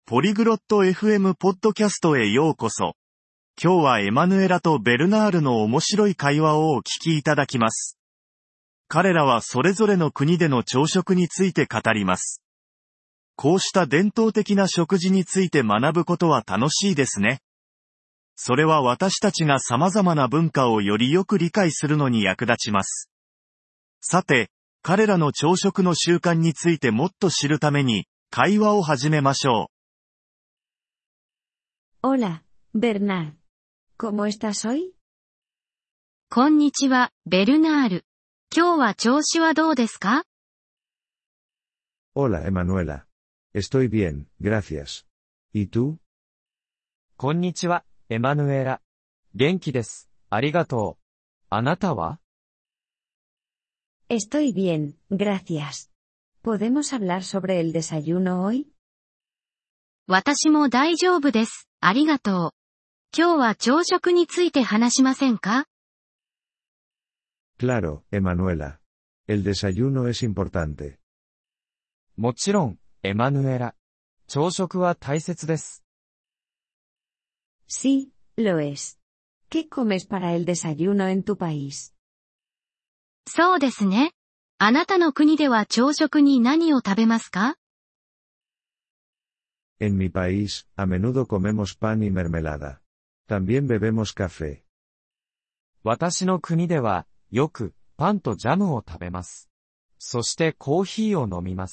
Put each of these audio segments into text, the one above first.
ポリグロット FM ポッドキャストへようこそ。今日はエマヌエラとベルナールの面白い会話をお聞きいただきます。彼らはそれぞれの国での朝食について語ります。こうした伝統的な食事について学ぶことは楽しいですね。それは私たちが様々な文化をよりよく理解するのに役立ちます。さて、彼らの朝食の習慣についてもっと知るために、会話を始めましょう。Hola, Bernard. ¿Cómo estás hoy? こんにちは、ベルナール。今日は調子はどうですか？ Hola, Emanuela. Estoy bien, gracias. ¿Y tú? こんにちは、エマヌエラ。元気です。ありがとう。あなたは？ Estoy bien, gracias. ¿Podemos hablar sobre el desayuno hoy? 私も大丈夫です。ありがとう。今日は朝食について話しませんか？ Claro, Emanuela. El desayuno es importante. もちろん、エマヌエラ。朝食は大切です。 Sí, lo es. ¿Qué comes para el desayuno en tu país? そうですね。あなたの国では朝食に何を食べますか？ En mi país, a menudo comemos pan y mermelada. También bebemos café. 私の国では、よく、パンとジャムを食べます。そしてコーヒーを飲みます。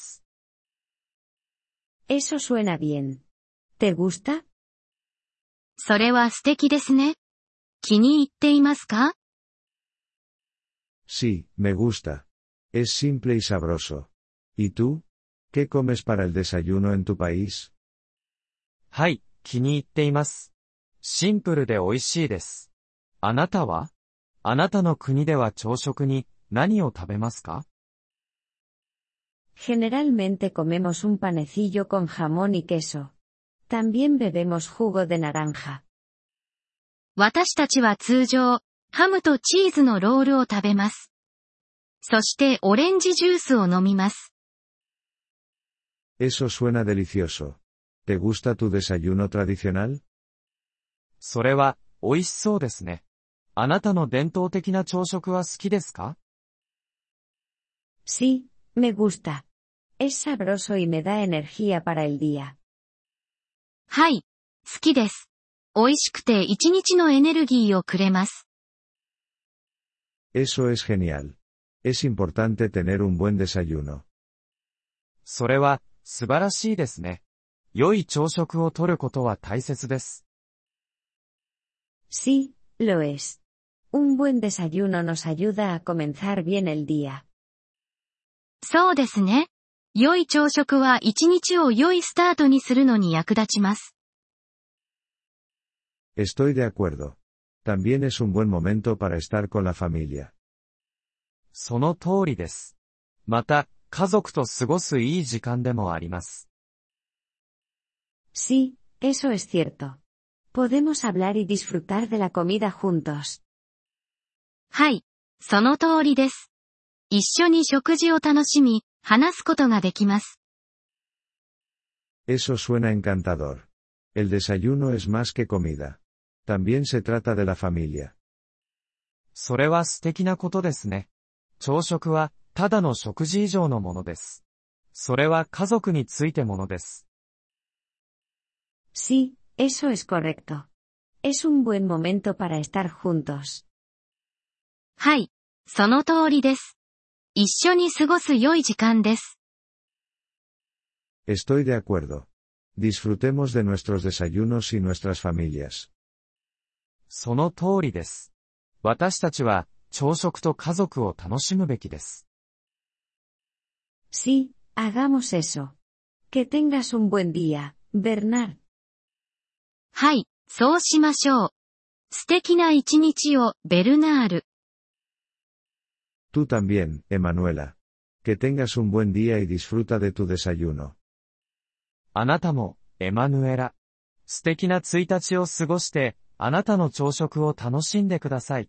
Eso suena bien. ¿Te gusta? それは素敵ですね。気に入っていますか？ Sí, me gusta. Es simple y sabroso. ¿Y tú? ¿Qué comes para el desayuno en tu país? はい、気に入っています。シンプルで美味しいです。あなたは？あなたの国では朝食に何を食べますか？ Generalmente comemos un panecillo con jamón y queso. También bebemos jugo de naranja. 私たちは通常、ハムとチーズのロールを食べます。そしてオレンジジュースを飲みます。 Eso suena delicioso. ¿Te gusta tu desayuno tradicional? それは、美味しそうですね。あなたの伝統的な朝食は好きですか？ Sí, me gusta. Es sabroso y me da energía para el día. はい、好きです。美味しくて一日のエネルギーをくれます。 Eso es genial. Es importante tener un buen desayuno. それは、素晴らしいですね。良い朝食をとることは大切です。 Sí, lo es. Un buen desayuno nos ayuda a comenzar bien el día. そうですね。良い朝食は一日を良いスタートにするのに役立ちます。 Estoy de acuerdo. También es un buen momento para estar con la familia. その通りです。また、家族と過ごすいい時間でもあります。 Sí, eso es cierto. Podemos hablar y disfrutar de la comida juntos. はい、その通りです。一緒に食事を楽しみ、話すことができます。 Eso suena encantador. El desayuno es más que comida. También se trata de la familia. それは素敵なことですね。朝食は、ただの食事以上のものです。それは家族についてものです。 Sí, eso es correcto. Es un buen momento para estar juntos. はい、その通りです。一緒に過ごす良い時間です。 Estoy de acuerdo. Disfrutemos de nuestros desayunos y nuestras familias. その通りです。私たちは、朝食と家族を楽しむべきです。 Sí, hagamos eso. Que tengas un buen día, Bernard. はい、そうしましょう。素敵な一日を、ベルナール。 Tú también, Emanuela. Que tengas un buen día y disfruta de tu desayuno. あなたも、エマヌエラ。素敵な1日を過ごして、あなたの朝食を楽しんでください。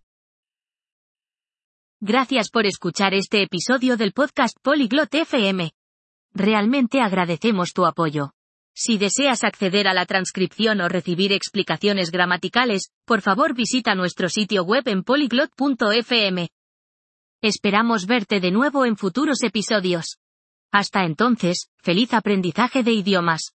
Gracias por escuchar este episodio del podcast Polyglot FM. Realmente agradecemos tu apoyo. Si deseas acceder a la transcripción o recibir explicaciones gramaticales, por favor visita nuestro sitio web en polyglot.fm. Esperamos verte de nuevo en futuros episodios. Hasta entonces, feliz aprendizaje de idiomas.